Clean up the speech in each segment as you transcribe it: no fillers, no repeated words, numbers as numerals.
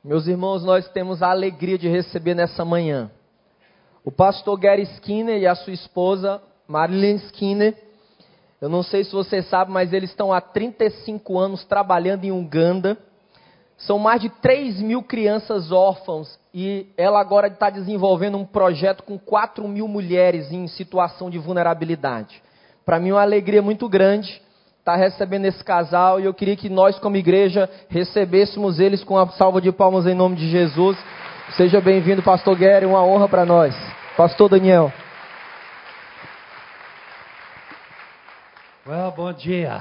Meus irmãos, nós temos a alegria de receber nessa manhã o pastor Gary Skinner e a sua esposa Marilyn Skinner. Eu não sei se você sabe, mas eles estão há 35 anos trabalhando em Uganda. São mais de 3.000 crianças órfãs e ela agora está desenvolvendo um projeto com 4.000 mulheres em situação de vulnerabilidade. Para mim é uma alegria muito grande estar recebendo esse casal e eu queria que nós como igreja recebêssemos eles com uma salva de palmas em nome de Jesus. Seja bem-vindo, pastor Gary, uma honra para nós. Pastor Daniel. Well, bom dia.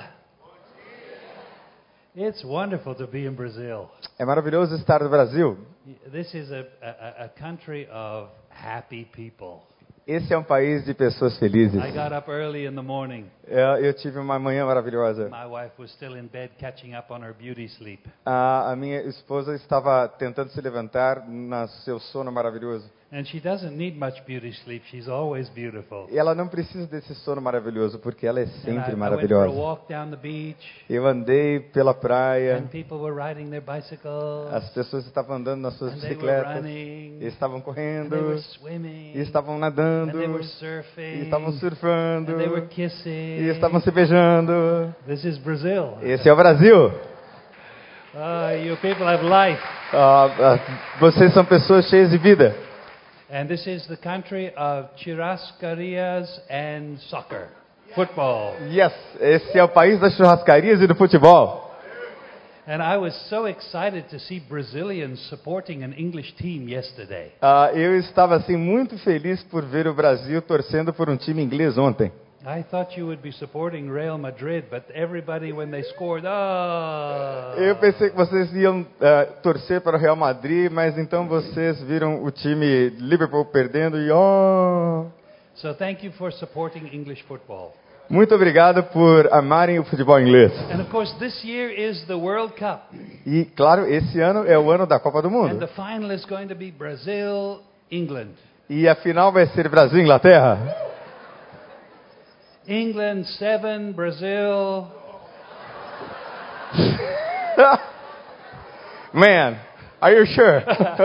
It's wonderful to be in Brazil. É maravilhoso estar no Brasil. This is a country of happy people. Esse é um país de pessoas felizes. I got up early in the morning. Eu tive uma manhã maravilhosa. My wife was still in bed catching up on her beauty sleep. A minha esposa estava tentando se levantar no seu sono maravilhoso. And she doesn't need much beauty sleep. She's always beautiful. E ela não precisa desse sono maravilhoso, porque ela é And sempre I went for a maravilhosa. walk down the beach. Eu andei pela praia, And people were riding their bicycles. as pessoas estavam andando nas suas And they were bicicletas, running. e estavam And they correndo, were swimming. e estavam And nadando, they were e surfing. estavam surfando, And they were kissing. e estavam se beijando. This is Brazil. Esse é o Brasil. You people have life. Vocês são pessoas cheias de vida. And this is the country of churrascarias and soccer. Football. Yes, esse é o país das churrascarias e do futebol. And I was so excited to see Brazilians supporting an English team yesterday. Eu estava assim muito feliz por ver o Brasil torcendo por um time inglês ontem. I thought you would be supporting Real Madrid, but everybody when they scored, Eu pensei que vocês iam torcer para o Real Madrid, mas então vocês viram o time Liverpool perdendo e So thank you for supporting English football. Muito obrigado por amarem o futebol inglês. And of course this year is the World Cup. E claro, esse ano é o ano da Copa do And Mundo. the final is going to be Brazil, England. E a final vai ser Brasil e Inglaterra. England 7, Brazil. Man, are you sure?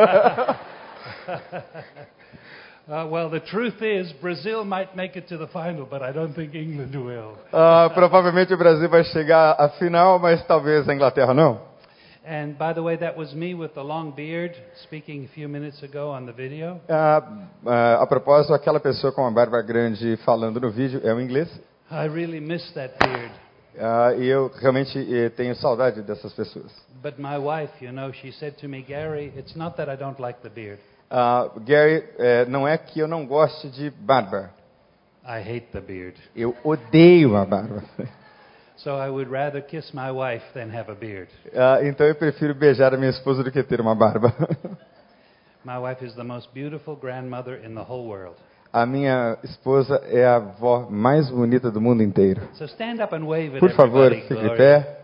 Well, the truth is, Brazil might make it to the final, but I don't think England will. Provavelmente o Brasil vai chegar à final, mas talvez a Inglaterra não. And by the way, that was me with the long beard speaking a few minutes ago on the video. A propósito, aquela pessoa com a barba grande falando no vídeo é um inglês. I really miss that beard. E eu realmente tenho saudade dessas pessoas. But my wife, she said to me, Gary, it's not that I don't like the beard. Gary, não é que eu não goste de barba. I hate the beard. Eu odeio a barba. So I would rather kiss my wife than have a beard. Então eu prefiro beijar a minha esposa do que ter uma barba. My wife is the most beautiful grandmother in the whole world. A minha esposa é a avó mais bonita do mundo inteiro. So stand up and wave at Por favor, everybody, fique de Gloria. pé.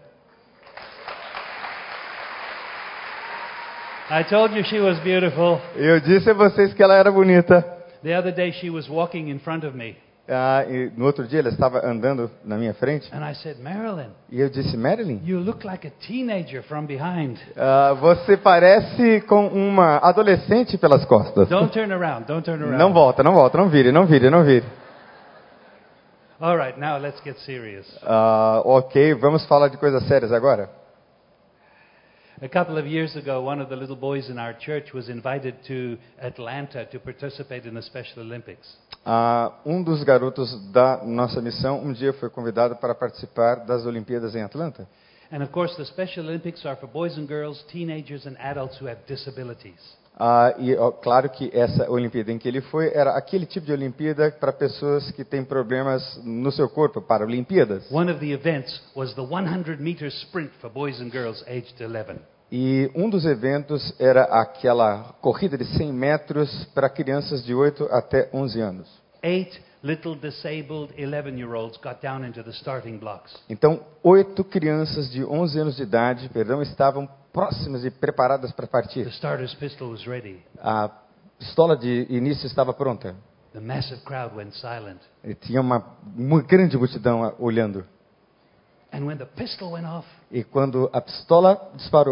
I told you she was beautiful. Eu disse a vocês que ela era bonita. The other day she was walking in front of me. E no outro dia ela estava andando na minha frente. And I said, Marilyn, E eu disse, Marilyn, you look like a teenager from behind. você parece com uma adolescente pelas costas. Don't turn around, don't turn around. Não volta, não volta, não vire, não vire, não vire. All right, now let's get serious. Ok, vamos falar de coisas sérias agora. A couple of years ago, one of the little boys in our church was invited to Atlanta to participate in the Special Olympics. Um dos garotos da nossa missão um dia foi convidado para participar das Olimpíadas em Atlanta. And of course, the Special Olympics are for boys and girls, teenagers and adults who have disabilities. Claro que essa Olimpíada em que ele foi era aquele tipo de Olimpíada para pessoas que têm problemas no seu corpo, para Olimpíadas. One of the events was the 100-meter sprint for boys and girls aged 11. E um dos eventos era aquela corrida de 100 metros para crianças de 8 até 11 anos. 8 little disabled 11-year-olds got down into the starting blocks. Então, 8 crianças de 11 anos de idade, estavam próximas e preparadas para partir. The starter's pistol was ready. A pistola de início estava pronta. The massive crowd went silent. E tinha uma grande multidão olhando. And when the pistol went off, E quando a pistola disparou,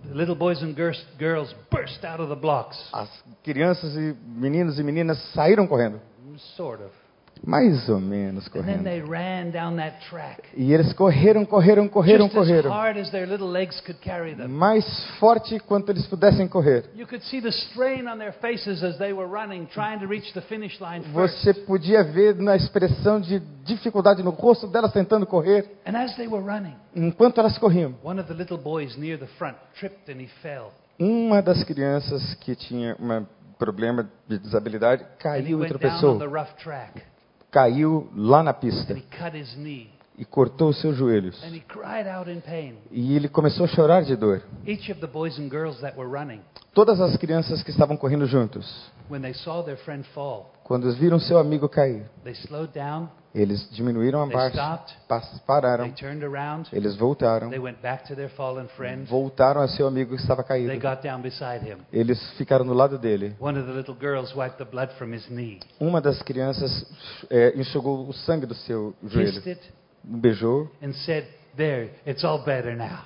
little boys and girls burst out of the blocks. As crianças e meninas saíram correndo. Sort of. Mais ou menos And then correndo. they ran down that track. E eles correram. Just as hard as their little legs could carry them. Mais forte quanto eles pudessem correr. You could see the strain on their faces as they were running, trying to reach the finish line first. Você podia ver na expressão de dificuldade no rosto delas tentando correr. And as they were running, Enquanto elas corriam, one of the little boys near the front tripped and he fell. uma das crianças que tinha um problema de desabilidade And he caiu e went down on tropeçou. the rough track. Caiu lá na pista And he cut his knee. e cortou os seus joelhos. And he cried out in pain. E ele começou a chorar de dor. Each of the boys and girls that were running, Todas as crianças que estavam correndo juntos, when they saw their friend fall, quando viram seu amigo cair, they slowed down, eles diminuíram a they marcha, stopped, they pararam, turned around, eles voltaram, they went back to their fallen friend, voltaram a seu amigo que estava they caído. got down beside him. Eles ficaram do lado dele. One of the little girls wiped the blood from his knee, Uma das crianças enxugou o sangue do seu joelho, kissed it, beijou. and said, "There, it's all better now."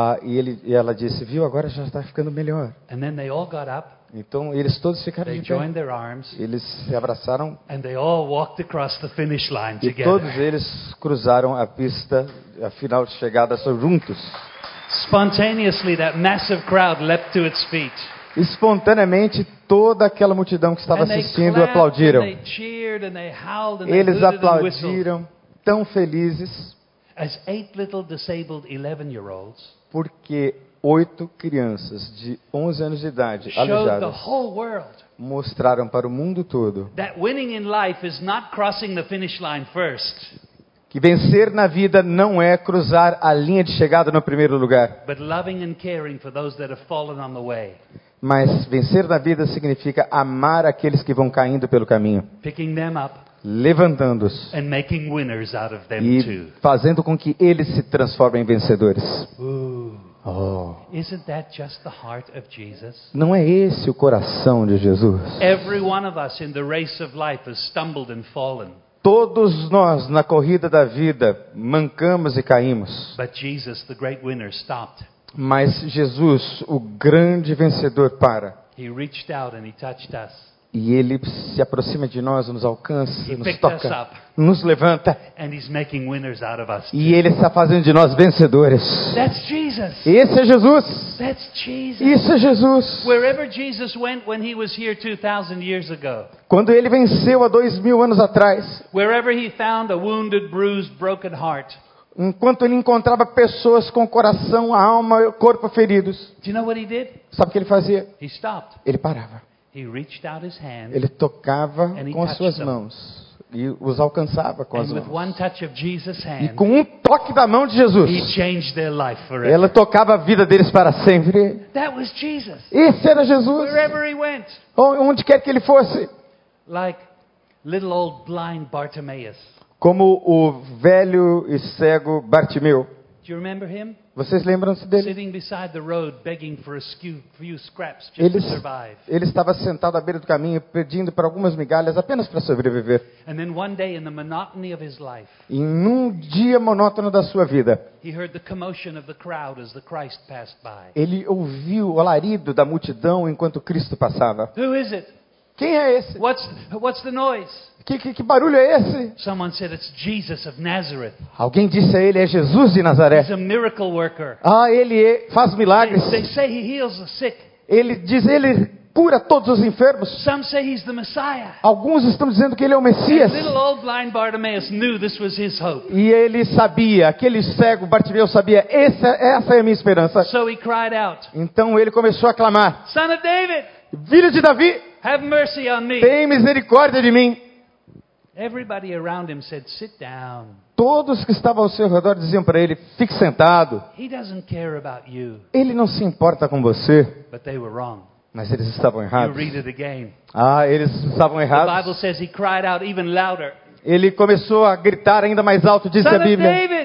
E ela disse, viu, agora já está ficando melhor. And then they all got up, Então eles todos ficaram they de pé. joined their arms, Eles se abraçaram and they all walked across the finish line e todos together. eles cruzaram a pista, a final de chegada juntos. Spontaneously, that massive crowd leapt to its feet. Espontaneamente, toda aquela multidão que estava And they assistindo clapped, aplaudiram. and they cheered, and they howled, and they Eles hooted and whistled. aplaudiram, tão felizes, As 8 little disabled 11-year-olds porque 8 crianças de 11 anos de idade, showed the aleijadas, whole world mostraram para o mundo todo that winning in life is not crossing the finish line first, que vencer na vida não é cruzar a linha de chegada no primeiro lugar, but loving and caring for those that have fallen on the way, mas vencer na vida significa amar aqueles que vão caindo pelo caminho, picking them up levantando-os and making winners out of them e too. fazendo com que eles se transformem em vencedores. Ooh, Oh, isn't that just the heart of Jesus? não é esse o coração de Jesus? Every one of us in the race of life has stumbled and fallen, Todos nós na corrida da vida mancamos e caímos, but Jesus, the great winner, stopped. mas Jesus, o grande vencedor, para. He reached out and he touched us. E Ele se aproxima de nós, nos alcança, He nos picked us toca, up. nos levanta. And he's making winners out of us. E Ele está fazendo de nós vencedores. That's Jesus. Esse é Jesus. That's Jesus. Isso é Jesus. Wherever Jesus went when he was here 2,000 years ago, Quando Ele venceu há 2000 anos atrás, wherever he found a wounded, bruised, broken heart, enquanto Ele encontrava pessoas com coração, alma, corpo feridos, do you know what he did? sabe o que Ele fazia? He stopped. Ele parava. He reached out his hand, Ele tocava And he com as touched suas them. mãos e os alcançava com as and with mãos. one touch of Jesus' E hand, com um toque da mão de he Jesus, changed their life forever. ela tocava a vida deles para sempre. That was Jesus. Esse era Jesus. Wherever he went, Onde quer que ele fosse. like little old blind Bartimaeus. Como o velho e cego Bartimeu. Do you remember him? Vocês lembram-se dele? Sitting beside the road, begging for a few scraps just to survive. Ele estava sentado à beira do caminho, pedindo para algumas migalhas apenas para sobreviver. And then one day, in the monotony of his life, E num dia monótono da sua vida, he heard the commotion of the crowd as the Christ passed by. ele ouviu o alarido da multidão enquanto Cristo passava. Who is it? Quem é esse? What's the noise? Que barulho é esse? Someone said it's Jesus of Nazareth. Alguém disse a ele, é Jesus de Nazaré. He's a miracle worker. Ele faz milagres. They say he heals the sick. Ele cura todos os enfermos. Some say he's the Messiah. Alguns estão dizendo que ele é o Messias. And little old blind Bartimaeus knew this was his hope. E ele sabia, aquele cego Bartimeu sabia, essa é a minha esperança. So he cried out, Então ele começou a clamar, Son of David, filho de Davi, have mercy on me. tem misericórdia de mim. Everybody around him said, sit down. Todos que estavam ao seu redor diziam para ele, fique sentado. He doesn't care about you. Ele não se importa com você. But they were wrong. Mas eles estavam You errados. read it again. Eles estavam The Bible errados. says he cried out even louder. Ele começou a gritar ainda mais alto, disse Son a of Bíblia, David,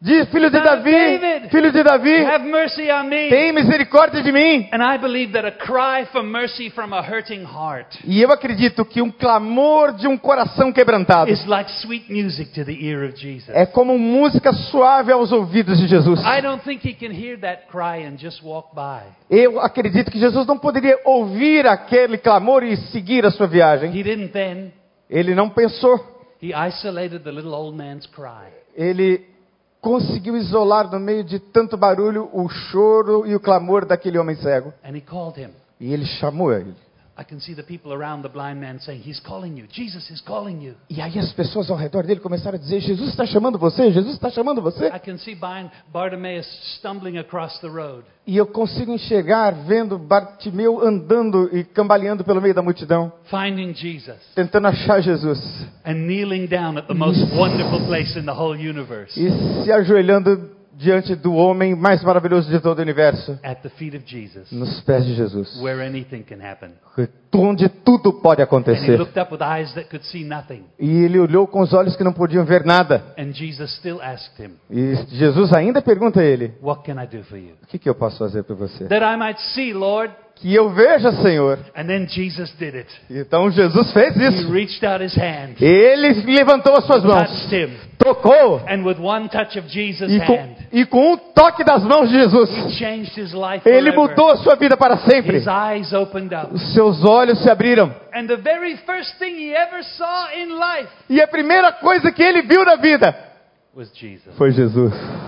Diz, filho de Son of Davi, David, filho de Davi, have mercy on me. tem misericórdia de mim. And I believe that a cry for mercy from a hurting heart E eu acredito que um clamor de um coração quebrantado is like sweet music to the ear of Jesus. é como música suave aos ouvidos de Jesus. I don't think he can hear that cry and just walk by. Eu acredito que Jesus não poderia ouvir aquele clamor e seguir a sua viagem. He didn't then. Ele não pensou. He isolated the little old man's cry. Ele conseguiu isolar no meio de tanto barulho o choro e o clamor daquele homem cego. And he called him. E ele chamou ele. I can see the people around the blind man saying, he's calling you. Jesus is calling you. E aí as pessoas ao redor dele começaram a dizer, Jesus está chamando você, Jesus está chamando você. I can see Bartimaeus stumbling across the road. E eu consigo enxergar, vendo Bartimeu andando e cambaleando pelo meio da multidão, Finding Jesus tentando achar Jesus. and kneeling down at the most wonderful place in the whole universe, E se ajoelhando diante do homem mais maravilhoso de todo o universo, at the feet of Jesus, nos pés de Jesus, where anything can happen. onde tudo pode And he acontecer. looked up with eyes that could see nothing. E ele olhou com os olhos que não podiam ver nada. And Jesus still asked him, E Jesus ainda pergunta a ele, what can I do for you? o que eu posso fazer por você? That I might see, Lord. Que eu veja, Senhor. And then Jesus did it. Então Jesus fez He isso. reached out his hand, Ele levantou as suas mãos, touched him, tocou, and with one touch of Jesus' hand, e com um toque das mãos de Jesus, he changed his life ele forever. mudou a sua vida para sempre. His eyes opened up. Os seus olhos se abriram. And the very first thing he ever saw in life E a primeira coisa que ele viu na vida was Jesus. foi Jesus.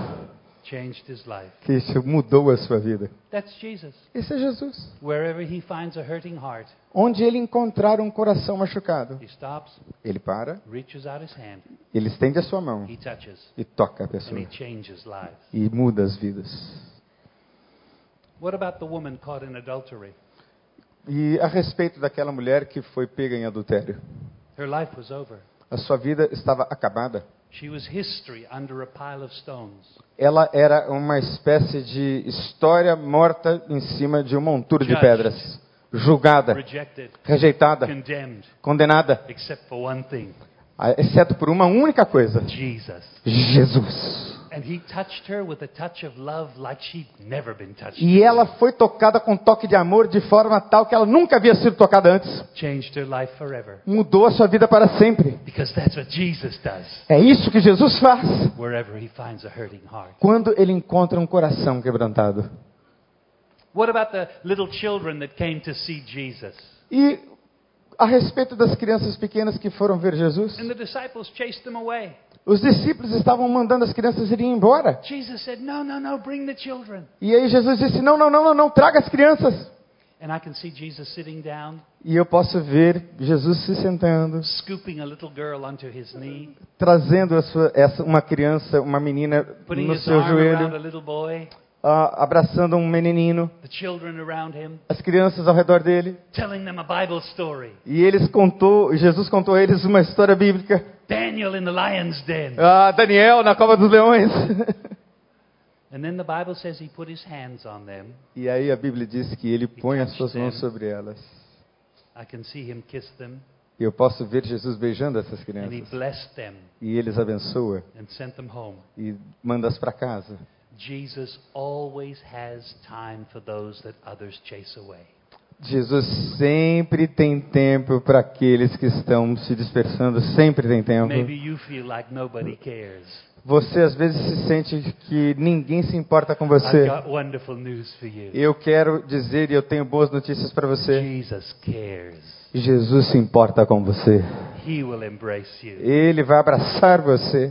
Changed his life. Que isso mudou a sua vida. That's Jesus. Esse é Jesus. Wherever he finds a hurting heart, Onde ele encontrar um coração machucado, he stops, ele para, reaches out his hand, ele estende a sua mão he touches, e toca a and pessoa. he changes lives. E muda as vidas. What about the woman caught in adultery? E a respeito daquela mulher que foi pega em adultério. Her life was over. A sua vida estava acabada. She was history under a pile of stones. Ela era uma espécie de história morta em cima de um monturo de Judged. pedras. Julgada, Rejected, rejeitada, condemned, condenada. except for one thing, Exceto por uma única coisa. Jesus. Jesus. And he touched her with a touch of love like she'd never been touched. E ela foi tocada com um toque de amor de forma tal que ela nunca havia sido tocada antes. Changed her life forever. Mudou a sua vida para sempre. Because that's what Jesus does É isso que Jesus faz wherever he finds a hurting heart. quando ele encontra um coração quebrantado. What about the little children that came to see Jesus? E a respeito das crianças pequenas que foram ver Jesus, And the disciples chased them away. os discípulos estavam mandando as crianças irem embora. Jesus said, no, no, no, bring the children. E aí Jesus disse, não, traga as crianças. And I can see Jesus sitting down, E eu posso ver Jesus se sentando, scooping a little girl onto his knee, trazendo uma criança, uma menina putting no his seu arm around a joelho, little boy, abraçando um menino, the children around him, as crianças ao redor dele. telling them a Bible story. E Jesus contou a eles uma história bíblica. Daniel in the lion's den. Daniel na cova dos leões. And then the Bible says he put his hands on them. E aí a Bíblia diz que ele põe as suas mãos sobre elas. I can see him kiss them, E eu posso ver Jesus beijando essas and he crianças. blessed them E eles abençoa and sent them home. e manda-as para casa. Jesus always has time for those that others chase away. Jesus sempre tem tempo para aqueles que estão se dispersando, sempre tem tempo. Maybe you feel like nobody cares. Você às vezes se sente que ninguém se importa com I've você. got wonderful news for you. Eu quero dizer e eu tenho boas notícias para você. Jesus cares. Jesus se importa com você. He will embrace you. Ele vai abraçar você.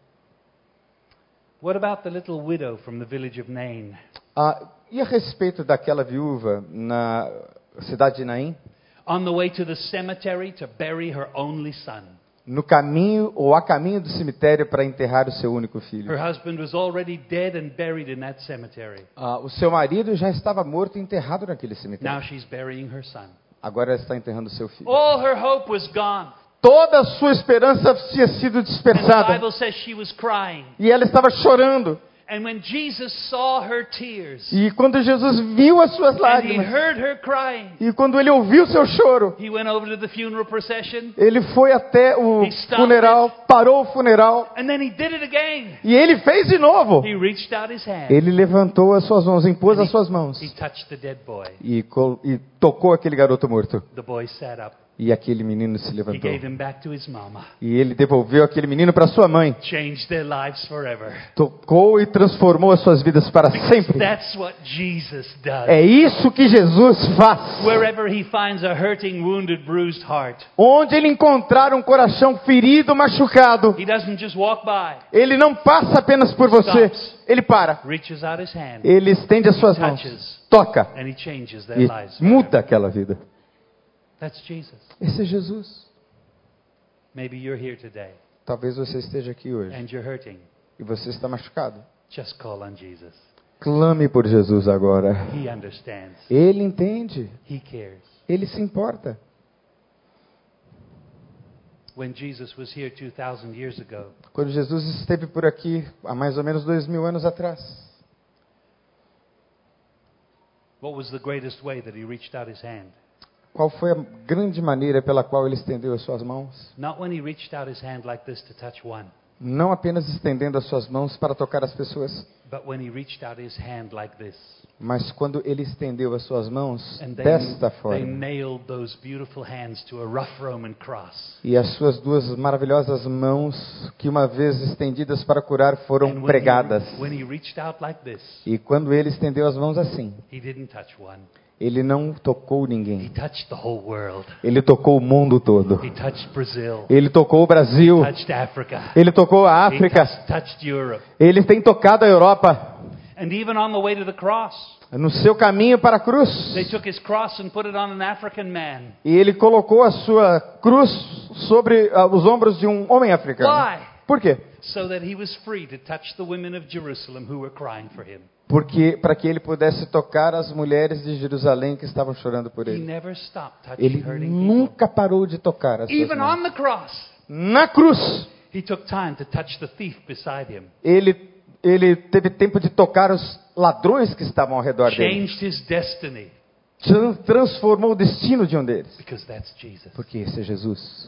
What about the little widow from the village of Nain? E a respeito daquela viúva na cidade de Naim? On the way to the cemetery to bury her only son. No caminho ou a caminho do cemitério para enterrar o seu único filho. Her husband was already dead and buried in that cemetery. O seu marido já estava morto e enterrado naquele cemitério. Now she's burying her son. Agora ela está enterrando o seu filho. All her hope was gone. Toda a sua esperança tinha sido And the dispersada. Bible says she was crying. E ela estava chorando. And when Jesus saw her tears, E quando Jesus viu as suas and he lágrimas, heard her crying, e quando ele ouviu seu choro, he went over to the funeral procession, ele foi até o funeral, parou o funeral, and then he did it again. e ele fez de novo. He reached out his hand. Ele levantou as suas mãos, impôs as suas mãos He touched the dead boy. e tocou aquele garoto morto. The boy sat up. E aquele menino se He levantou. gave him back to his mama. E ele devolveu aquele menino para sua mãe. Changed their lives forever. Tocou e transformou as suas vidas para sempre. That's what Jesus does. É isso que Jesus faz. Wherever he finds a hurting, wounded, bruised heart, Onde ele encontrar um coração ferido, machucado, he doesn't just walk by, ele não passa apenas por você. Ele para. reaches out his hand, Ele estende as suas mãos. Toca. and he changes their E lives. muda aquela vida. That's Jesus. Esse é Jesus. Maybe you're here today Talvez você esteja aqui hoje and you're hurting. e você está machucado. Just call on Jesus. Clame por Jesus agora. He understands. Ele entende. He cares. Ele se importa. When Jesus was here 2,000 years ago, Quando Jesus esteve por aqui, há mais ou menos 2000 anos atrás, what was the greatest way that he reached out his hand? qual foi a grande maneira pela qual ele estendeu as suas mãos? Not when he reached out his hand like this to touch one, Não apenas estendendo as suas mãos para tocar as pessoas, but when he reached out his hand like this. mas quando ele estendeu as suas mãos And desta they forma. nailed those beautiful hands to a rough Roman cross. E as suas duas maravilhosas mãos, que uma vez estendidas para curar, And foram pregadas. when he reached out like this, E quando ele estendeu as mãos assim, he didn't touch one. ele não tocou He ninguém. touched the whole world. Ele tocou o mundo todo. He touched Brazil. Ele tocou o Brasil. Touched Africa. Ele tocou a He África. touched Europe. Ele tem tocado a Europa. And even on the way to the cross, No seu caminho para a cruz. they took his cross and put it on an African man. E ele colocou a sua cruz sobre os ombros de um homem africano. Why? Por quê? So that he was free to touch the women of Jerusalem who were crying for him. Porque para que ele pudesse tocar as mulheres de Jerusalém que estavam chorando por He ele. never stopped touching Ele hurting nunca parou de tocar as people. suas Even mãos. on the cross, Na cruz, he took time to touch the thief beside him. ele teve tempo de tocar os ladrões que estavam ao redor dele. Changed his destiny. Transformou o destino de um deles. Because that's Jesus. Porque esse é Jesus.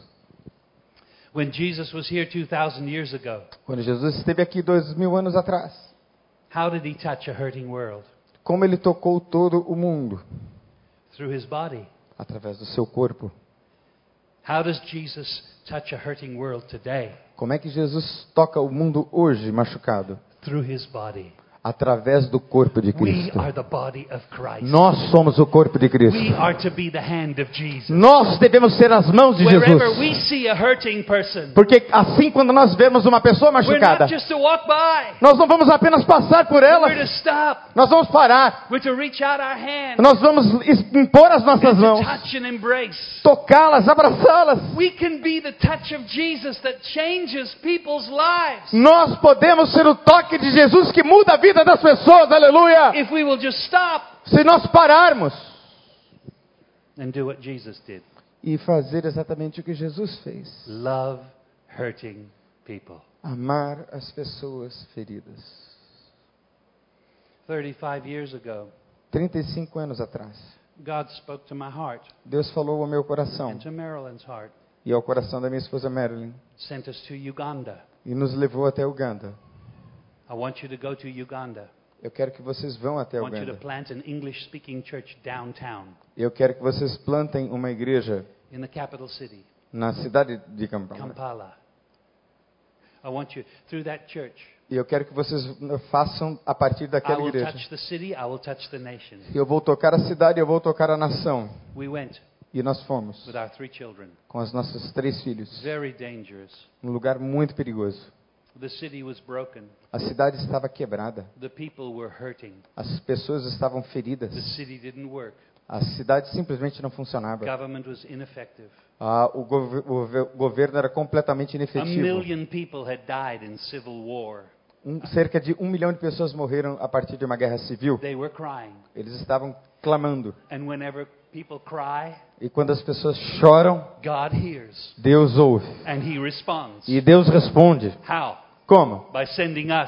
When Jesus was here 2,000 years ago, Quando Jesus esteve aqui 2000 anos atrás, how did he touch a hurting world? como ele tocou todo o mundo? Through his body. Através do seu corpo. How does Jesus touch a hurting world today? Como é que Jesus toca o mundo hoje machucado? Through his body. Através do corpo de We Cristo. are the body of Christ. Nós somos o corpo de Cristo. We are to be the hand of Jesus. Nós devemos ser as mãos de Wherever Jesus. we see a hurting person, Porque assim, quando nós vemos uma pessoa we're machucada, not just to walk by. nós não vamos apenas passar por ela, We're to stop. nós vamos parar, We're to reach out our hand nós vamos impor as nossas and to mãos, touch and embrace. tocá-las, abraçá-las. We can be the touch of Jesus that changes people's lives. Nós podemos ser o toque de Jesus que muda a vida das pessoas, aleluia! If we will just stop Se nós pararmos and do what Jesus did. e fazer exatamente o que Jesus fez, Love hurting people. amar as pessoas feridas. 35 years ago, 35 anos atrás, God spoke to my heart Deus falou ao meu coração and to Marilyn's heart. e ao coração da minha esposa Marilyn Sent us to Uganda. e nos levou até Uganda. I want you to go to Uganda. Eu quero que vocês vão até I want you to Uganda. plant an English-speaking church downtown Eu quero que vocês plantem uma igreja in the capital city, na cidade de Kampala. Kampala. I want you, through that church, E eu quero que vocês façam a partir I daquela will igreja. touch the city, I will touch the nation. Eu vou tocar a cidade, eu vou tocar a nação. We went E nós fomos with our 3 children. com os nossos 3 filhos, Very dangerous. num lugar muito perigoso. The city was broken. A cidade estava quebrada, The people were hurting. as pessoas estavam feridas, The city didn't work. a cidade simplesmente não funcionava. Government was ineffective. O governo era completamente A inefetivo. million people had died in civil war. Cerca de 1 milhão de pessoas morreram a partir de uma guerra civil. They were crying. Eles estavam clamando. And whenever people cry, E quando as pessoas choram, God hears. Deus ouve. And He responds. E Deus responde. How? Como? By sending us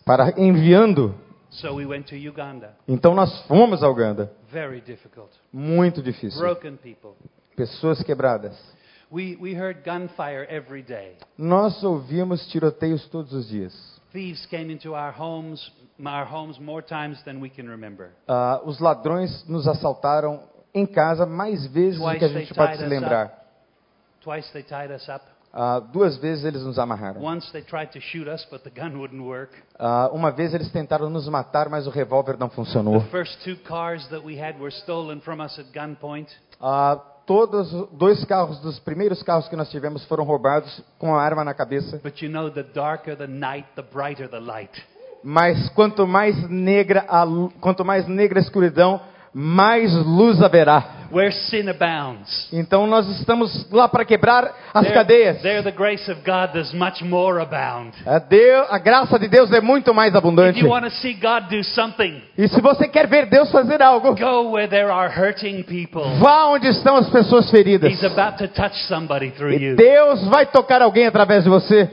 enviando. So we went to Uganda. Então nós fomos a Uganda. Very difficult. Muito difícil. Broken people. Pessoas quebradas. We heard gunfire every day. Nós ouvimos tiroteios todos os dias. Thieves came into our homes more times than we can remember. Os ladrões nos assaltaram em casa mais vezes do que a gente pode se lembrar. Twice they tied us up. 2 vezes eles nos amarraram. Once they tried to shoot us, but the gun wouldn't work. Uma vez eles tentaram nos matar, mas o revólver não funcionou. The first 2 cars that we had were stolen from us at gunpoint. Todos 2 carros dos primeiros carros que nós tivemos foram roubados com a arma na cabeça. But you know, the darker the night, the brighter the light. Mas quanto mais negra a escuridão, mais luz haverá. Where sin abounds, Então nós estamos lá para quebrar as cadeias. there the grace of God does much more abound. A graça de Deus é muito mais If abundante. you want to see God do something, E se você quer ver Deus fazer algo, go where there are hurting people. vá onde estão as pessoas feridas. He's about to touch somebody through E you. Deus vai tocar alguém através de você.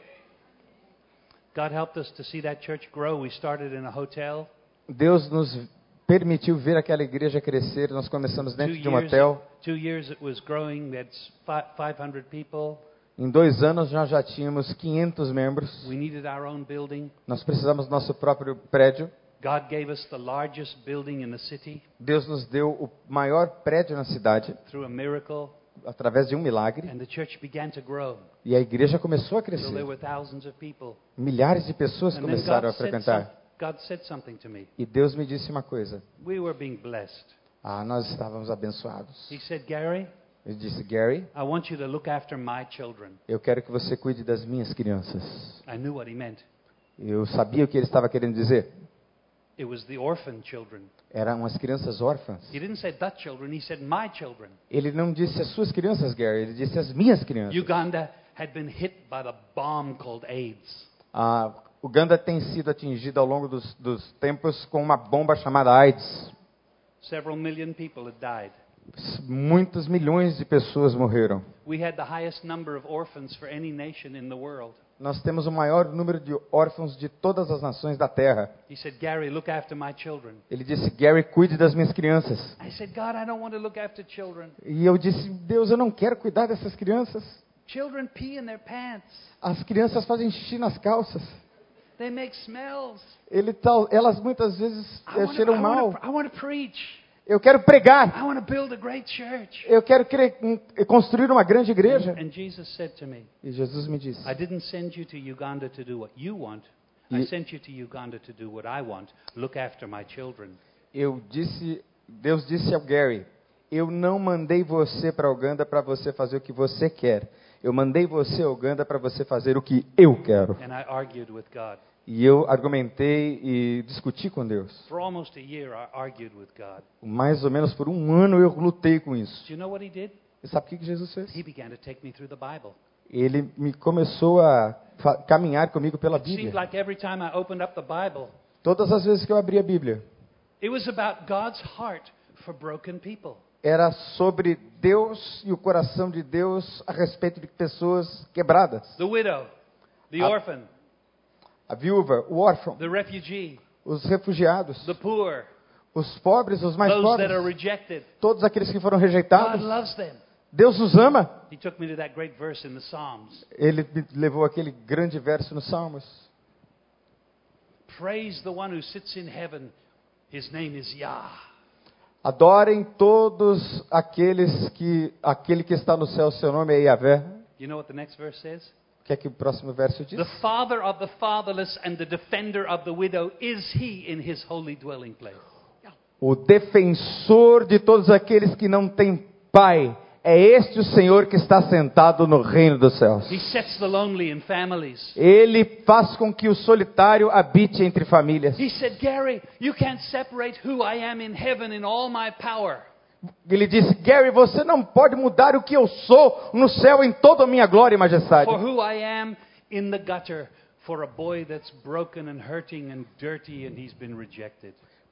God helped us to see that church grow. We started in a hotel. Deus nos permitiu ver aquela igreja crescer. Nós começamos dentro de um hotel. 2 years it was growing. We had 500 people. Em 2 anos nós já tínhamos 500 membros. We needed our own building. Nós precisamos do nosso próprio prédio. God gave us the largest building in the city Deus nos deu o maior prédio na cidade through a miracle, através de um milagre. and the church began to grow. E a igreja começou a So there crescer. were thousands of people. Milhares de pessoas And then começaram a frequentar. God said something to me. E Deus me disse uma coisa. We were being blessed. Nós estávamos abençoados. He said, Gary, Ele disse, Gary, I want you to look after my children. eu quero que você cuide das minhas crianças. I knew what he meant. Eu sabia o que ele estava querendo dizer. It was the orphan children. Eram as crianças órfãs. He didn't say the children, he said my children. Ele não disse as suas crianças, Gary. Ele disse as minhas crianças. Uganda had been hit by the bomb called AIDS. Uganda tem sido atingida ao longo dos tempos com uma bomba chamada AIDS. Several million people had died. Muitos milhões de pessoas morreram. We had the highest number of orphans for any nation in the world. Nós temos o maior número de órfãos de todas as nações da terra. He said, Gary, look after my children. Ele disse, Gary, cuide das minhas crianças. I said, God, I don't want to look after children. E eu disse, Deus, eu não quero cuidar dessas crianças. Children pee in their pants. As crianças fazem xixi nas calças. They make smells. Elas muitas vezes cheiram mal. I want to preach. Eu quero pregar. I want to build a great church. Eu quero construir uma grande igreja. And Jesus said to me, E Jesus me disse, I didn't send you to Uganda to do what you want. I sent you to Uganda to do what I want. Look after my children. Deus disse ao Gary, eu não mandei você para Uganda para você fazer o que você quer. Eu mandei você a Uganda para você fazer o que eu quero. And I argued with God. E eu argumentei e discuti com Deus. For almost a year, I argued with God. Mais ou menos por 1 ano eu lutei com isso. Do you know what he did? E sabe o que Jesus fez? He began to take me through the Bible. Ele começou a caminhar comigo pela It seemed Bíblia. like every time I opened up the Bible, Todas as vezes que eu abri a Bíblia, it was about God's heart for broken people. era sobre Deus e o coração de Deus a respeito de pessoas quebradas. The widow, the orphan, A viúva, o órfão, the refugee, os refugiados, the poor, os pobres, os mais those that are pobres, rejected. todos aqueles que foram God rejeitados. loves them. Deus os ama. He took me to that great verse in the Psalms. Ele me levou aquele grande verso nos Salmos. Praise the one who sits in heaven. His name is Yah. Adorem todos aquele que está no céu, seu nome é Yahvé. You know what the next verse says? O que é que o próximo verso diz? The father of the fatherless and the defender of the widow is he in his holy dwelling place. O defensor de todos aqueles que não têm pai. É este o Senhor que está sentado no reino dos céus. He sets the lonely in families. Ele faz com que o solitário habite entre famílias. He said, Gary, you can't separate who I am in heaven in all my power. Ele disse, Gary, você não pode mudar o que eu sou no céu em toda a minha glória e majestade. For who I am in the gutter for a boy that's broken and hurting and dirty and he's been rejected.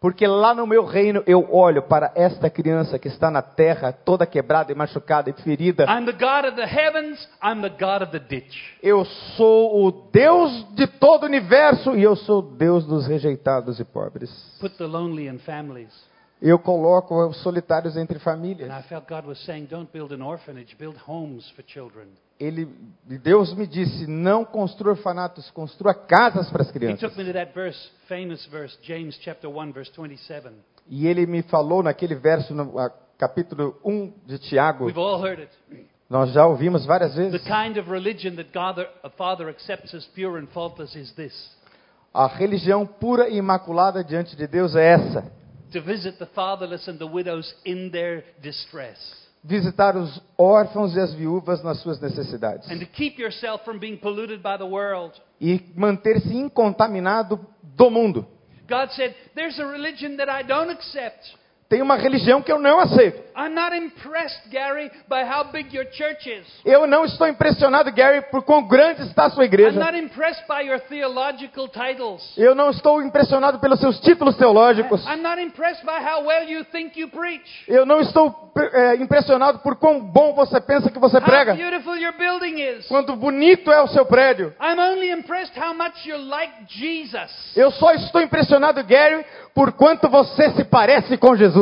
Porque lá no meu reino eu olho para esta criança que está na terra, toda quebrada e machucada e ferida. I'm the God of the heavens, I'm the God of the ditch. Eu sou o Deus de todo o universo e eu sou o Deus dos rejeitados e pobres. Put the lonely in families. Eu coloco os solitários entre And famílias. I felt God was saying, don't build an orphanage, build homes for children. Deus me disse, não construa orfanatos, construa casas para as He crianças. took me to that verse, famous verse, James chapter 1, verse 27. E ele me falou naquele verso, no capítulo 1 de Tiago, We've all heard it. nós já ouvimos várias The vezes. kind of religion that God, a Father accepts as pure and faultless is this: A religião pura e imaculada diante de Deus é essa. to visit the fatherless and the widows in their distress, Visitar os órfãos e as viúvas nas suas necessidades. and to keep yourself from being polluted by the world. E manter-se incontaminado do mundo. God said, there's a religion that I don't accept. Tem uma religião que eu não aceito. I'm not impressed, Gary, by how big your church is. Eu não estou impressionado, Gary, por quão grande está a sua I'm igreja. not impressed by your theological titles. Eu não estou impressionado pelos seus títulos teológicos. I'm not impressed by how well you think you preach. Eu não estou impressionado por quão bom você pensa que você How prega. beautiful your building is. Quanto bonito é o seu prédio. I'm only impressed how much you're like Jesus. Eu só estou impressionado, Gary, por quanto você se parece com Jesus.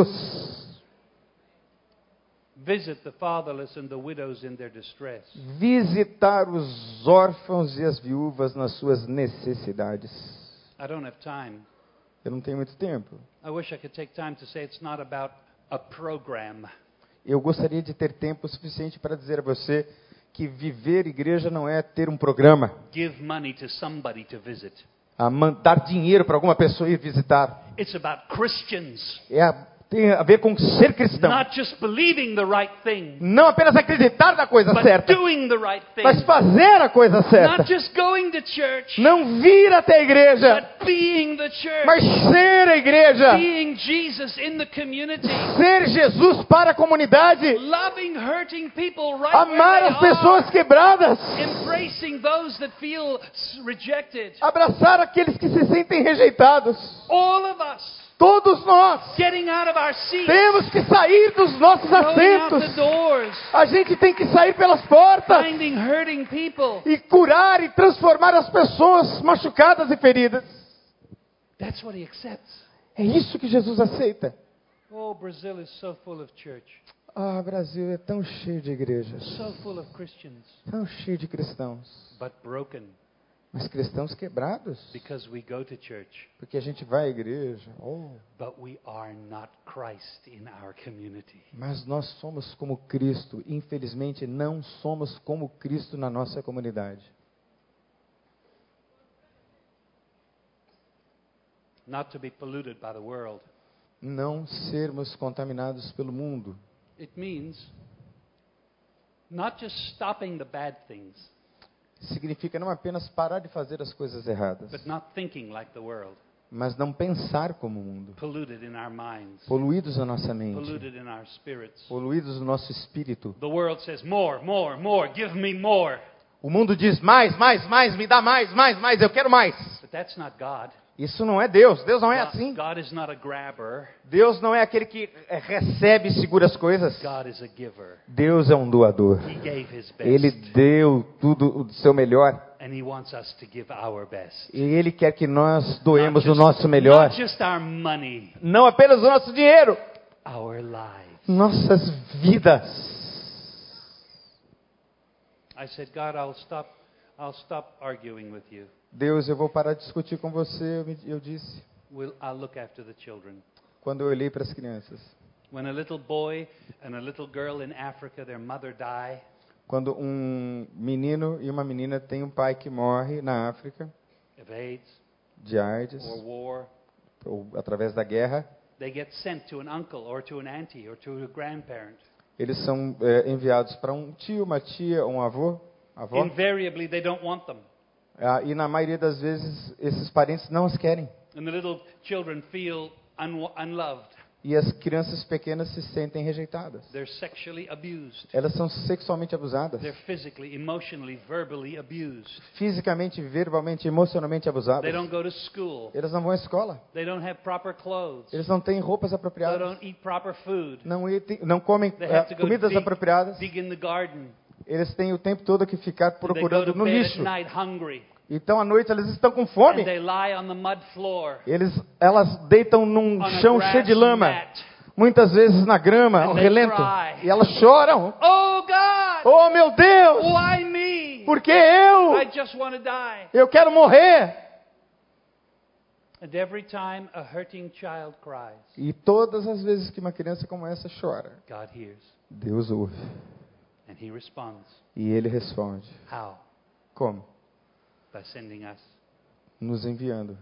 Visit the fatherless and the widows in their distress. Visitar os órfãos e as viúvas nas suas necessidades. I don't have time. Eu não tenho muito tempo. I wish I could take time to say it's not about a program. Eu gostaria de ter tempo suficiente para dizer a você que viver igreja não é ter um programa. Give money to somebody to visit. Dar dinheiro para alguma pessoa ir visitar. It's about Christians. Tem a ver com ser cristão. Not just believing the right thing, Não apenas acreditar na coisa but certa, doing the right thing. mas fazer a coisa certa. Not just going to church, Não vir até a igreja, but being the church. mas ser a igreja. Being Jesus in the community. Ser Jesus para a comunidade. Loving hurting people right Amar where as they pessoas are. quebradas. Embracing those that feel rejected. Abraçar aqueles que se sentem rejeitados. All of us Todos nós getting out of our seats. temos que sair dos nossos Going out assentos. the doors. A gente tem que sair pelas portas Finding hurting people. e curar e transformar as pessoas machucadas e feridas. That's what he accepts. É isso que Jesus aceita. Oh, Brazil is so full of church. Ah, Brasil é tão cheio de igrejas, So full of Christians. tão cheio de cristãos, But broken mas cristãos quebrados, because we go to church. porque a gente vai à igreja. Oh, But we are not Christ in our community. mas nós somos como Cristo. Infelizmente, não somos como Cristo na nossa comunidade. Not to be polluted by the world. Não sermos contaminados pelo mundo. It means not just stopping the bad things, Significa não apenas parar de fazer as coisas erradas, but not thinking like the world. mas não pensar como o mundo. Polluted in our minds. Poluídos na nossa mente, Polluted in our spirits. poluídos no nosso espírito. The world says, more, more, more, give me more. O mundo diz mais, mais, mais, me dá mais, mais, mais, eu quero mais. But that's not God. Isso não é Deus. Deus não é assim. God is not a grabber. Deus não é aquele que recebe e segura as coisas. God is a giver. Deus é um doador. He gave his best. Ele deu tudo do seu melhor. And he wants us to give our best. E Ele quer que nós doemos Not o just- nosso melhor. Not just our money, Não apenas o nosso dinheiro. our lives. Nossas vidas. I said, God, I'll stop arguing with you. Deus, eu vou parar de discutir com você, eu disse. I'll look after the children. Quando eu olhei para as crianças. When a little boy and a little girl in Africa, their mother die, Quando um menino e uma menina têm um pai que morre na África, of AIDS de AIDS, or war, ou através da guerra, they get sent to an uncle or to an auntie or to a grandparent. eles são enviados para um tio, uma tia, um avô, avó. Invariably, they don't want them. E na maioria das vezes, esses parentes não os querem. And the little children feel unloved. E as crianças pequenas se sentem rejeitadas. They're sexually abused. Elas são sexualmente abusadas. They're physically, emotionally, verbally abused. Fisicamente, verbalmente, emocionalmente They abusadas. don't go to school. Eles não vão à escola. They don't have proper clothes. Eles não têm roupas They apropriadas. don't eat proper food. Não comem They have to go comidas apropriadas. dig in the garden. Eles têm o tempo todo que ficar They go procurando to no bed lixo. at night hungry. Então, à noite, eles estão com And fome. they lie on the mud floor. Elas deitam num On a chão grass cheio de lama. mat. Muitas vezes na grama, And ao they relento. cry. E elas choram. Oh God! Oh, meu Deus! Why me? Por que eu? I just want to die. Eu quero morrer. And every time a hurting child cries, E todas as vezes que uma criança como essa chora, God hears Deus ouve. and He responds. E Ele responde. How? Como? By sending us. Nos enviando.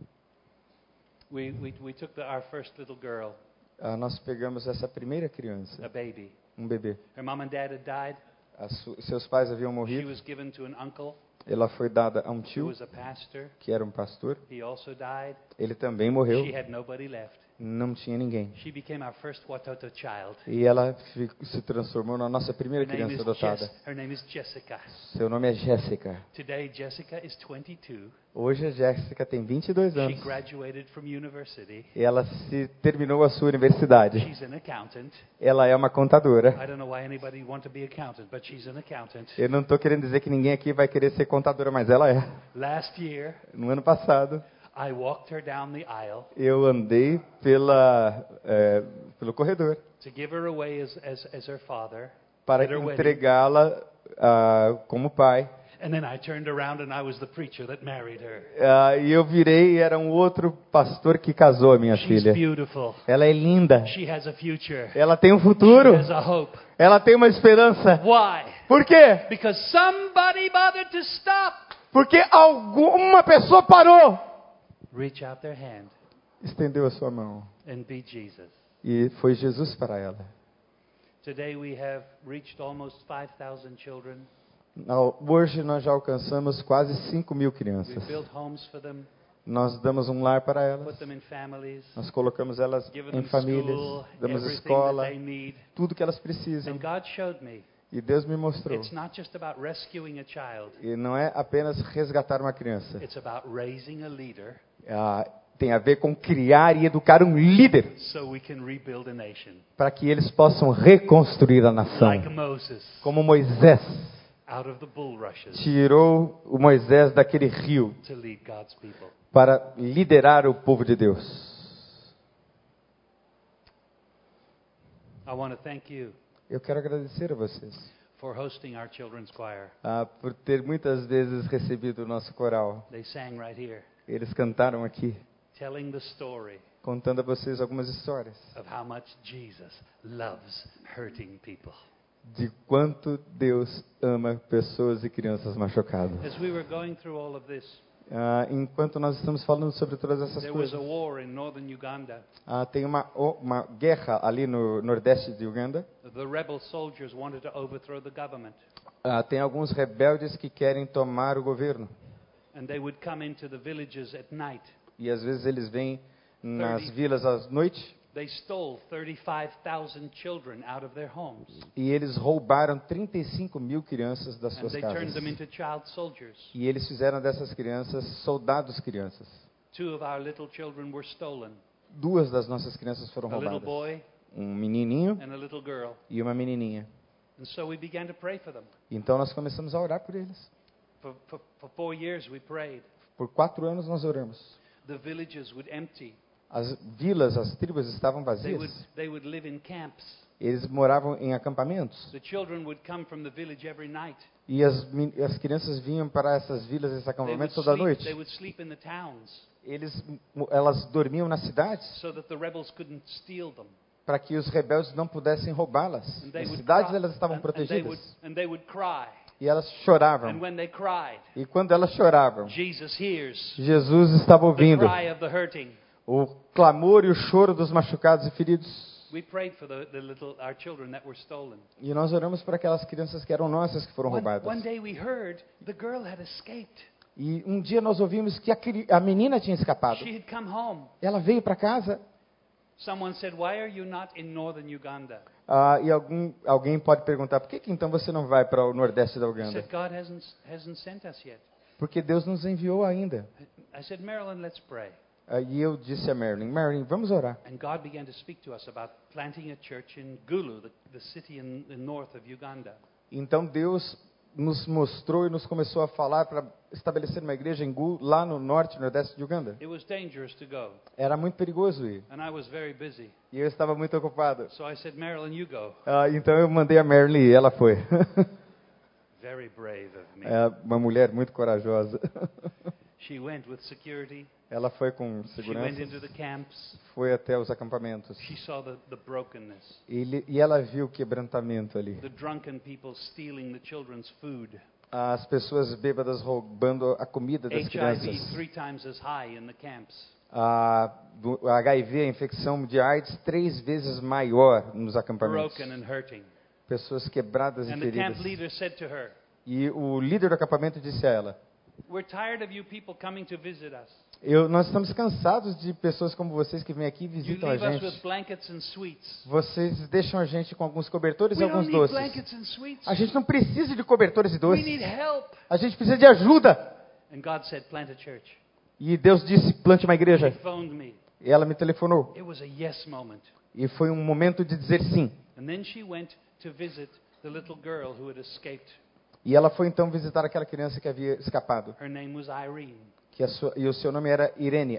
We took our first little girl, Nós pegamos essa primeira criança, a baby. um bebê. Her mom and dad had died. Seus pais haviam She morrido. was given to an uncle Ela foi dada a um who tio, was a pastor. que era um pastor. He also died. Ele também morreu. She had nobody left. Não tinha ninguém. She became our first Watoto child. E ela se transformou na nossa primeira Her name criança is adotada. Her name is Jessica. Seu nome é Jéssica. Today, Jessica is 22. Hoje a Jéssica tem 22 She anos. graduated from university. E ela terminou a sua universidade. She's an accountant. Ela é uma contadora. I don't know why anybody want to be accountant, but she's an accountant. Eu não estou querendo dizer que ninguém aqui vai querer ser contadora, mas ela é. Last year, No ano passado, I walked her down the aisle eu andei pelo corredor to give her away as her father para at her wedding. entregá-la como pai. And then I turned around and I was the preacher that married her. E eu virei e era um outro pastor que casou a minha She's filha. beautiful. Ela é linda. She has a future. Ela tem um futuro. She has a hope. Ela tem uma esperança. Why? Por quê? Because somebody bothered to stop. Porque alguma pessoa parou, Reach out their hand estendeu a sua mão and be Jesus. e foi Jesus para ela. Today we have reached almost 5,000 children. Hoje nós já alcançamos quase 5.000 We crianças. built homes for them, Nós damos um lar para elas. put them in families, Nós colocamos elas given em them famílias, school, damos everything escola, that they need. tudo que elas precisam. And God showed me E Deus me mostrou. it's not just about rescuing a child, E não é apenas resgatar uma criança. it's about raising a leader Tem a ver com criar e educar um líder so we can rebuild a nation. para que eles possam reconstruir a nação. Like Moses Como Moisés out of the bulrushes tirou o Moisés daquele rio to lead God's people. para liderar o povo de Deus. I want to thank you Eu quero agradecer a vocês for hosting our children's choir. por ter muitas vezes recebido o nosso coral. They sang right here, Eles cantaram aqui, telling the story contando a vocês algumas histórias of how much Jesus loves hurting people. de quanto Deus ama pessoas e crianças machucadas. As we were going through all of this, Enquanto nós estamos falando sobre todas essas there was a coisas, war in northern Uganda. tem uma guerra ali no nordeste de Uganda. The rebel soldiers wanted to overthrow the government, Tem alguns rebeldes que querem tomar o governo. and they would come into the villages at night. E às vezes eles vêm nas vilas à noite They stole 35,000 children out of their homes, e eles roubaram 35.000 crianças das and suas they turned casas. them into child soldiers. E eles fizeram dessas crianças soldados crianças. 2 of our little children were stolen, 2 das nossas crianças foram a little roubadas. boy Um menininho and a little girl. e uma menininha. And so we began to pray for them. Então nós começamos a orar por eles. For 4 years we prayed. Por 4 anos nós oramos. The villages would empty. As vilas, as tribos estavam They vazias. would live in camps. Eles moravam em acampamentos. The children would come from the village every night. E as crianças vinham para essas vilas, esses acampamentos toda noite. They would sleep in the towns Elas dormiam nas cidades so that the rebels couldn't steal them. para que os rebeldes não pudessem roubá-las. And they As would cidades cry- elas estavam and protegidas. they would cry. E elas And choravam. when they cried, E quando elas choravam, Jesus hears Jesus estava the ouvindo cry of the hurting. o clamor e o choro dos machucados e feridos. We prayed for our children that were stolen. E nós oramos por aquelas crianças que eram nossas que foram roubadas. One day we heard the girl had escaped. E um dia nós ouvimos que a menina tinha escapado. She had come home. Ela veio para casa Someone said, "Why are you not in northern Uganda?" E alguém pode perguntar, por que então você não vai para o nordeste da I Uganda? said, "God hasn't sent us yet." Porque Deus nos enviou ainda. I said, "Marilyn, let's pray." E eu disse a Marilyn, vamos orar. And God began to speak to us about planting a church in Gulu, the city in the north of Uganda. Então Deus nos mostrou e nos começou a falar para estabelecer uma igreja em Gulu, lá no norte e nordeste de Uganda. It was dangerous to go, Era muito perigoso ir. and I was very busy. E eu estava muito ocupado. So I said, "Marilyn, you go." Então eu mandei a Marilyn ir, ela foi. Very brave of me. É uma mulher muito corajosa. She went with security. Ela foi com She went segurança, into the camps. foi até os acampamentos. She saw the brokenness, E ela viu o quebrantamento ali. the drunken people stealing the children's food, As pessoas bêbadas roubando a comida das HIV crianças. 3 times as high in the camps. A HIV, a infecção de AIDS, 3 vezes maior nos acampamentos. Broken and hurting. Pessoas quebradas e And the camp feridas. leader said to her, E o líder do acampamento disse a ela, "We're tired of you people coming to visit us. nós estamos cansados de pessoas como vocês que vêm aqui e You visitam a leave us with gente. blankets and sweets. Vocês deixam a gente com alguns cobertores e We don't alguns need doces. blankets and sweets. A gente não precisa de cobertores e We doces. need help." A gente precisa de ajuda. And God said, "Plant a church." E Deus disse, plante uma He igreja. phoned me. E ela me telefonou. It was a yes moment. E foi um momento de dizer sim. And then she went to visit the little girl who had escaped. E ela foi então visitar aquela criança que havia escapado. Her name was Irene. E o seu nome era Irene.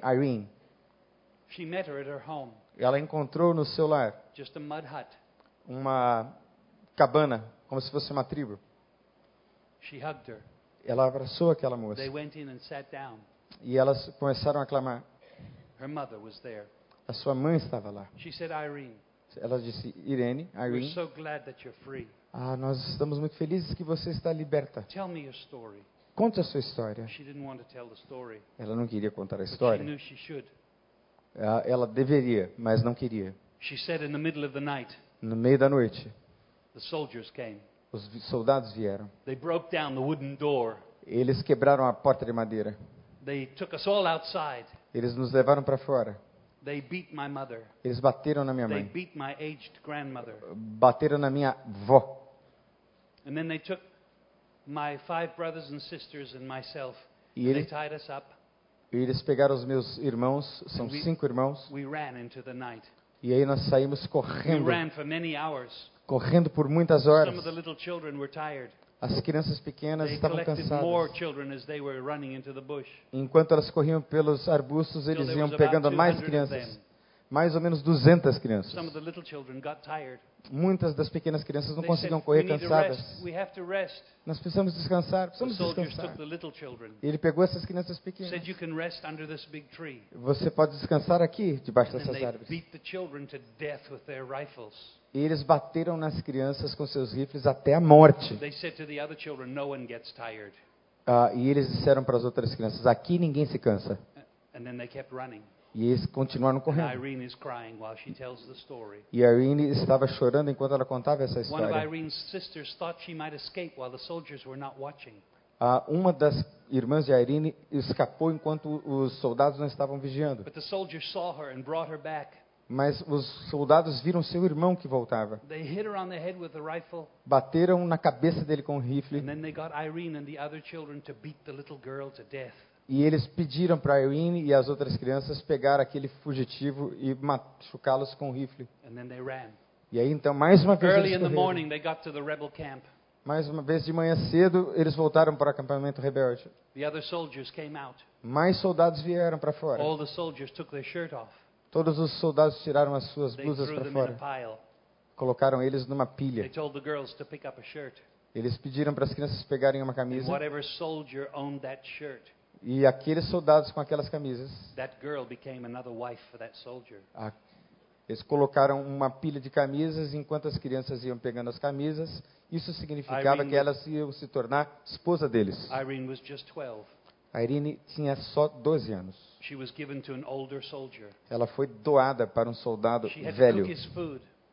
She met her at her home, Ela encontrou no seu lar just a mud hut. uma cabana, como se fosse uma tribo. She hugged her. Ela abraçou aquela moça. They went in and sat down. E elas começaram a clamar. Her mother was there. A sua mãe estava lá. She said, "Irene, Ela disse, Irene, we're so glad that you're free. nós estamos muito felizes que você está liberta. Tell me your story." Conte a sua história. She didn't want to tell the story, Ela não queria contar a but she história. knew she should. Ela deveria, mas não queria. She said in the middle of the night, No meio da noite, the soldiers came. os soldados vieram. They broke down the wooden door. Eles quebraram a porta de madeira. They took us all outside. Eles nos levaram para fora. They beat my mother. Eles bateram na minha They mãe. beat my aged grandmother. Bateram na minha avó. And then they took my 5 brothers and sisters and myself. E They eles, tied us up. eles pegaram os meus irmãos, são 5 irmãos, We ran into the night. e aí nós saímos We correndo, ran for many hours. correndo por muitas Some horas. of the little children were tired. As crianças pequenas They estavam collected more cansadas. children as they were running into the bush. Enquanto elas corriam pelos arbustos, Till eles there iam was about pegando mais 200 of crianças. them. Mais ou menos 200 crianças. Some of the little children got tired. Muitas das pequenas crianças não They conseguiam said, correr "We need to cansadas. rest. We have to rest." Nós precisamos descansar, The precisamos soldiers descansar. took the little children. Ele pegou essas crianças pequenas. Said, "You can rest under this big tree." Você pode descansar aqui, debaixo And then dessas they árvores. beat the children to death with their rifles. E eles bateram nas crianças com seus rifles até a morte. They said to the other children, "No one gets tired." E eles disseram para as outras crianças, aqui ninguém se cansa. And then they kept running. E eles continuaram And correndo. Irene is crying while she tells the story. E a Irene estava chorando enquanto ela contava essa One of história. Irene's sisters thought she might escape while the soldiers were not watching. Uma das irmãs de Irene escapou enquanto os soldados não estavam vigiando. But the soldiers saw her and brought her back. Mas os soldados viram seu irmão que voltava. They hit her on the head with the rifle. Bateram na cabeça dele com o rifle. And then they got Irene and the other children to beat the little girl to death. E eles pediram para Irene e as outras crianças pegar aquele fugitivo e machucá-los com o rifle. And then they ran. E aí então, mais uma vez, Early eles in the correram. morning, they got to the rebel camp. Mais uma vez de manhã cedo, eles voltaram para o acampamento rebelde. The other soldiers came out. Mais soldados vieram para fora. All the soldiers took their shirt off. Todos os soldados tiraram as suas They blusas threw para them in a fora. pile. Colocaram eles numa They pilha. told the girls to pick up a shirt. Eles pediram para as crianças pegarem uma And camisa. whatever soldier owned that shirt, E aqueles soldados com aquelas camisas, that girl became another wife for that soldier. eles colocaram uma pilha de camisas enquanto as crianças iam pegando as camisas. Isso significava Irene que elas iam se tornar esposa deles. Irene was just 12. A Irene tinha só 12 anos. She was given to an older soldier. Ela foi doada para um soldado She had to velho. cook his food.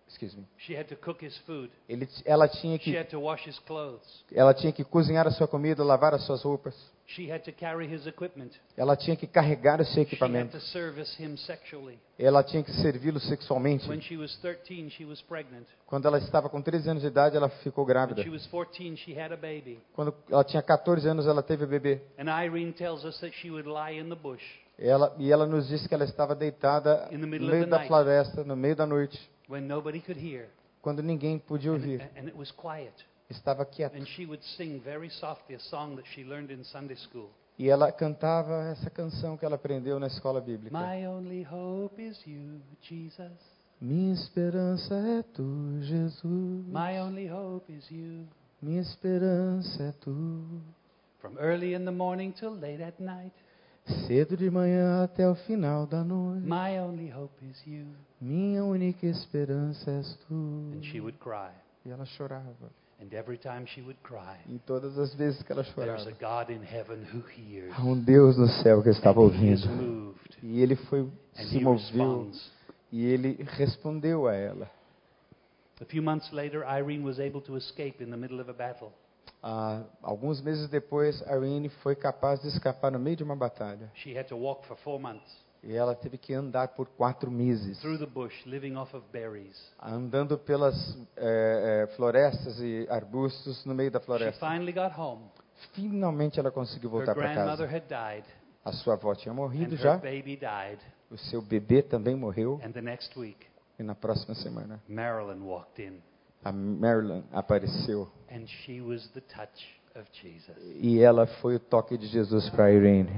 Excuse me. She had to cook his food. Ela tinha She que had to wash his clothes. cozinhar a sua comida, lavar as suas roupas. She had to carry his equipment. Ela tinha que carregar o seu She had equipamento. to service him sexually. Ela tinha que servi-lo sexualmente. When she was 13, she was pregnant. Quando ela estava com 13 anos de idade, ela ficou When grávida. she was 14, she had a baby. Quando ela tinha 14 anos, ela teve o bebê. And Irene tells us that she would lie in the bush Ela nos disse que ela estava deitada In the no middle of meio the da night. floresta, no meio da noite, when nobody could hear. quando ninguém podia ouvir. And it was quiet. Estava quieta. And she would sing very softly a song that she learned in Sunday school. E ela cantava essa canção que ela aprendeu na escola bíblica. My only hope is you, Jesus. Minha esperança é tu, Jesus. My only hope is you. Minha esperança é tu. From early in the morning till late at night. Cedo de manhã até o final da noite. My only hope is you. Minha única esperança és tu. And she would cry. E ela chorava. And every time she would cry, E todas as vezes que ela there's chorava, a God in heaven who hears. há um Deus no céu que estava And he is ouvindo. moved. E ele And se he moveu responds. e ele respondeu a ela. A few months later, Irene was able to escape in the middle of a battle. Alguns meses depois, Irene foi capaz de escapar no meio de uma batalha. She had to walk for 4 months E ela teve que andar por 4 meses, through the bush, living off of berries. andando pelas florestas e arbustos no meio da She floresta. finally got home. Finalmente ela conseguiu Her voltar para grandmother casa. had died, A sua avó tinha and morrido her já, baby died. o seu bebê também morreu, And the next week, e na próxima semana Marilyn walked in, a Marilyn apareceu. and she was the touch of Jesus. E ela foi o toque de Jesus para Irene.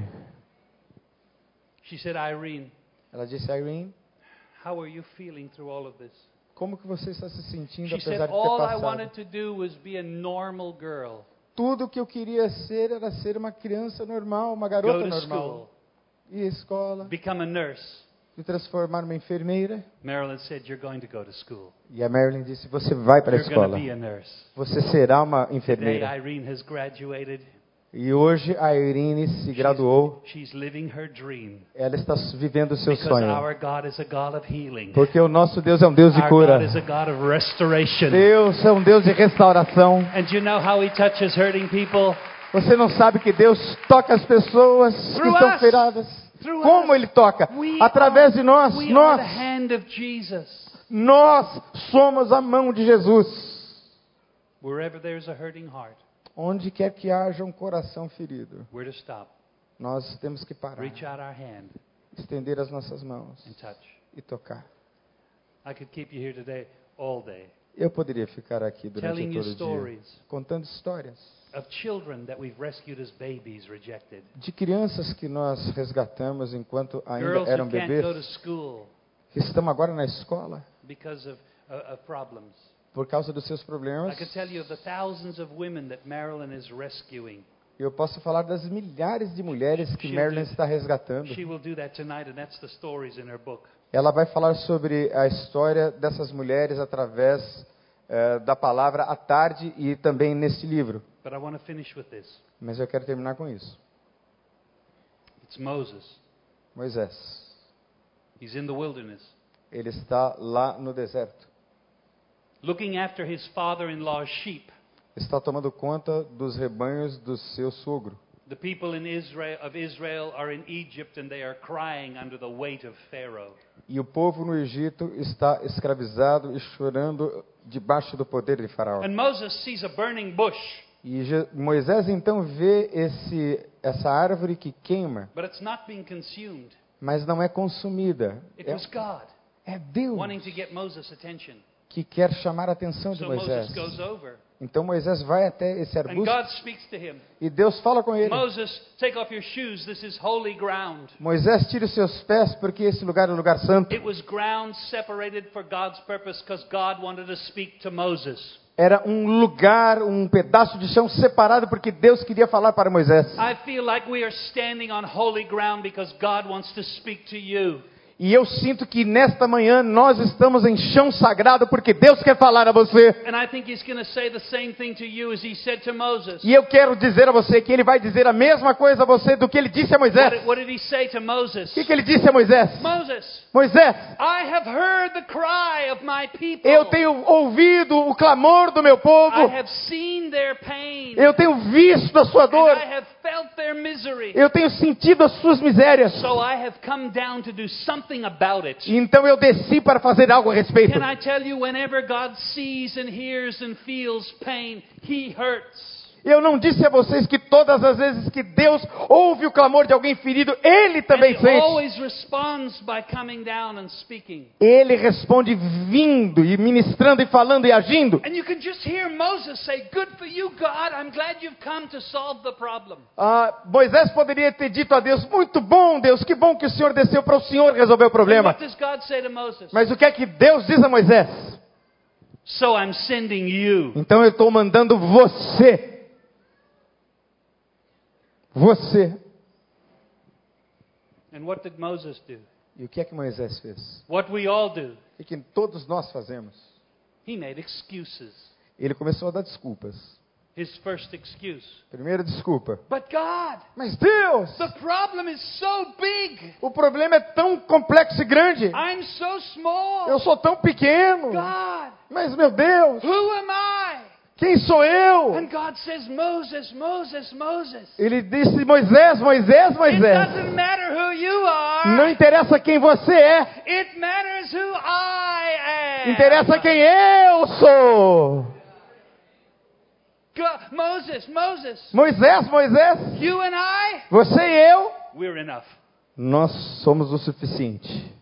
She said, Irene, Ela disse, Irene, how are you feeling through all of this? como que você está se sentindo She said, apesar de ter all I passado? wanted to do was be a normal girl. Tudo que eu queria ser era ser uma criança normal, uma Go garota to normal. school, Ir à escola, become a nurse. se transformar numa enfermeira. Marilyn said, you're going to go to school. E a Marilyn disse, você vai para a You're going to escola. be a nurse. Você será uma Today, enfermeira. Irene has graduated. E hoje a Irene se graduou. She's living her dream. Ela está vivendo o seu Because sonho. our God is a God of healing. Porque o nosso Deus é um Deus de Our cura. God is a God of restoration. Deus é um Deus de restauração. And you know how He touches hurting people? Você não sabe que Deus toca as pessoas que Through estão us. feridas? Through Como us. Ele toca? We Através de nós. We are the Nós. hand of Jesus. Nós somos a mão de Jesus. Wherever there's a hurting heart, Onde quer que haja um coração ferido, we're to stop, nós temos que parar, reach out our hand, estender as nossas mãos and touch. e tocar. I could keep you here today all day, Eu poderia ficar aqui durante telling you todo o dia stories contando histórias of children that we've rescued as babies rejected. de crianças que nós resgatamos enquanto ainda Girls eram who can't go to bebês, school que estão agora na escola because of problems. por causa dos seus I problemas. could tell you of the thousands of women that Marilyn is rescuing. Eu posso falar das milhares de mulheres que She'll Marilyn do- está resgatando. She will do that tonight, and that's the stories in her book. Ela vai falar sobre a história dessas mulheres através da palavra à tarde e também neste livro. But I want to finish with this. Mas eu quero terminar com isso. It's Moses. Moisés, He's in the wilderness, ele está lá no deserto. looking after his father-in-law's sheep. Está tomando conta dos rebanhos do seu sogro. The people in Israel are in Egypt, and they are crying under the weight of Pharaoh. E o povo no Egito está escravizado e chorando debaixo do poder de Faraó. And Moses sees a burning bush, E Moisés então vê essa árvore que queima, but it's not being consumed. mas não é consumida. It was God É Deus wanting to get Moses' attention. que quer chamar a atenção de So Moisés. Moses goes over, Então Moisés vai até esse and arbusto God speaks to him. e Deus fala com ele. Moses, take off your shoes. This is holy ground. Moisés, tire os seus pés porque esse lugar é um lugar santo. It was ground separated for God's purpose because God wanted to speak to Moses. Era um lugar, um pedaço de chão separado porque Deus queria falar para Moisés. I feel like we are standing on holy ground because God wants to speak to you. E eu sinto que nesta manhã nós estamos em chão sagrado porque Deus quer falar a você. And I think He's going to say the same thing to you as He said to Moses. E eu quero dizer a você que Ele vai dizer a mesma coisa a você do que Ele disse a Moisés. What did He say to Moses? O que Ele disse a Moisés? Moses, Moisés, I have heard the cry of my people. eu tenho ouvido o clamor do meu povo. I have seen their pain. Eu tenho visto a sua And dor. I have felt their misery. Eu tenho sentido as suas misérias. So I have come down to do something about it. Então eu desci para fazer algo a respeito. Can I tell you, whenever God sees and hears and feels pain, He hurts. Eu não disse a vocês que todas as vezes que Deus ouve o clamor de alguém ferido, Ele também And He sente. always responds by coming down and speaking. Ele responde vindo e ministrando e falando e agindo. And you can just hear Moses say, "Good for you, God. I'm glad you've come to solve the problem." Moisés poderia ter dito a Deus, muito bom Deus, que bom que o Senhor desceu para o Senhor resolver o And problema. what does God say to Moses? Mas o que é que Deus diz a Moisés? So I'm sending you. Então eu estou mandando você. Você. And what did Moses do? E o que é que Moisés fez? What we all do. O que todos nós fazemos? He made excuses. Ele começou a dar desculpas. His first excuse. Primeira desculpa. But God, Mas Deus, the problem is so big. o problema é tão complexo e grande. I'm so small. Eu sou tão pequeno. God, Mas meu Deus, who am I? quem sou eu? And God says, Moses, Moses, Moses. Ele disse, Moisés, Moisés, It Moisés. doesn't matter who you are. Não interessa quem você é. It matters who I am. Interessa quem eu sou. Moses, Moisés, Moisés. you and I, Você e eu. we're enough. Nós somos o suficiente.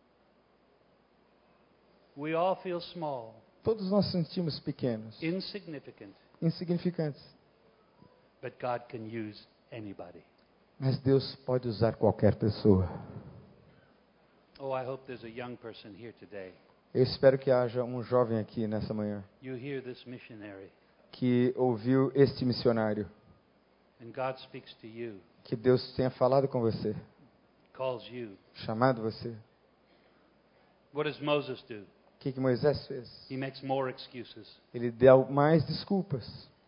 We all feel small, Todos nós sentimos pequenos, insignificant, insignificantes. but God can use anybody. Mas Deus pode usar qualquer pessoa. Oh, I hope there's a young person here today. Eu espero que haja um jovem aqui nessa manhã You hear this missionary, que ouviu este missionário. and God speaks to you, Que Deus tenha falado com você, calls you. chamado você. What does Moses do? O que Moisés fez? He makes more excuses. Ele deu mais desculpas.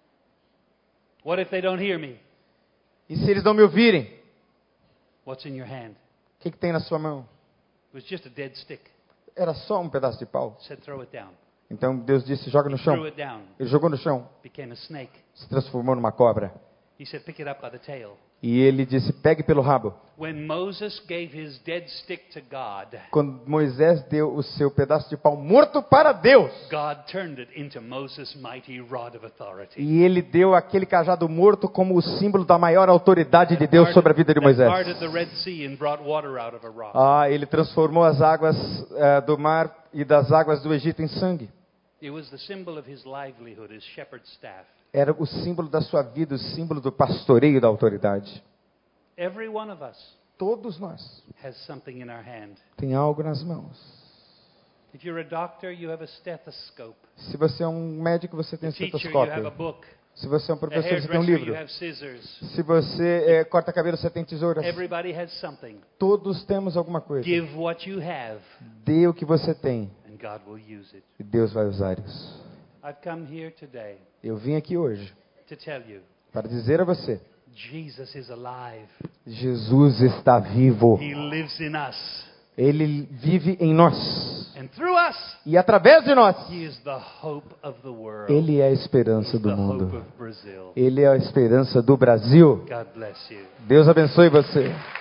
What if they don't hear me? E se eles não me ouvirem? What's in your hand? O que tem na sua mão? It was just a dead stick. Era só um pedaço de pau. Said, throw it down. Então Deus disse, joga no Threw chão. it down. Ele jogou no chão, Became a snake. se transformou numa cobra. He said, pick it up by the tail. E ele disse, pegue pelo rabo. When Moses gave his dead stick to God, Quando Moisés deu o seu pedaço de pau morto para Deus, God turned it into Moses' mighty rod of authority. e ele deu aquele cajado morto como o símbolo da maior autoridade de Deus sobre a vida de Moisés. Parted the Red Sea and brought water out of a rock. Ele transformou as águas do mar e das águas do Egito em sangue. It was the symbol of his livelihood, his shepherd's staff. Era o símbolo da sua vida, o símbolo do pastoreio da autoridade. Every one of us Todos nós has something in our hand. tem algo nas mãos. If you're a doctor, you have a stethoscope. Se você é um médico, você tem A um teacher, you have a estetoscópio. book. Se você é um A professor, você tem um hairdresser, you livro. have scissors. Se você corta cabelo, você tem tesouras. Everybody has something. Todos temos alguma coisa. Give what you have, Dê o que você tem and God will use it. e Deus vai usar isso. I've come here today Eu vim aqui hoje to tell you, para dizer a você, Jesus is alive. Jesus está vivo. He lives in us. Ele vive em nós. And through us, E através de nós, He is the hope of the world. Ele é a esperança He's do the hope mundo. of Brazil. Ele é a esperança do Brasil. God bless you. Deus abençoe você.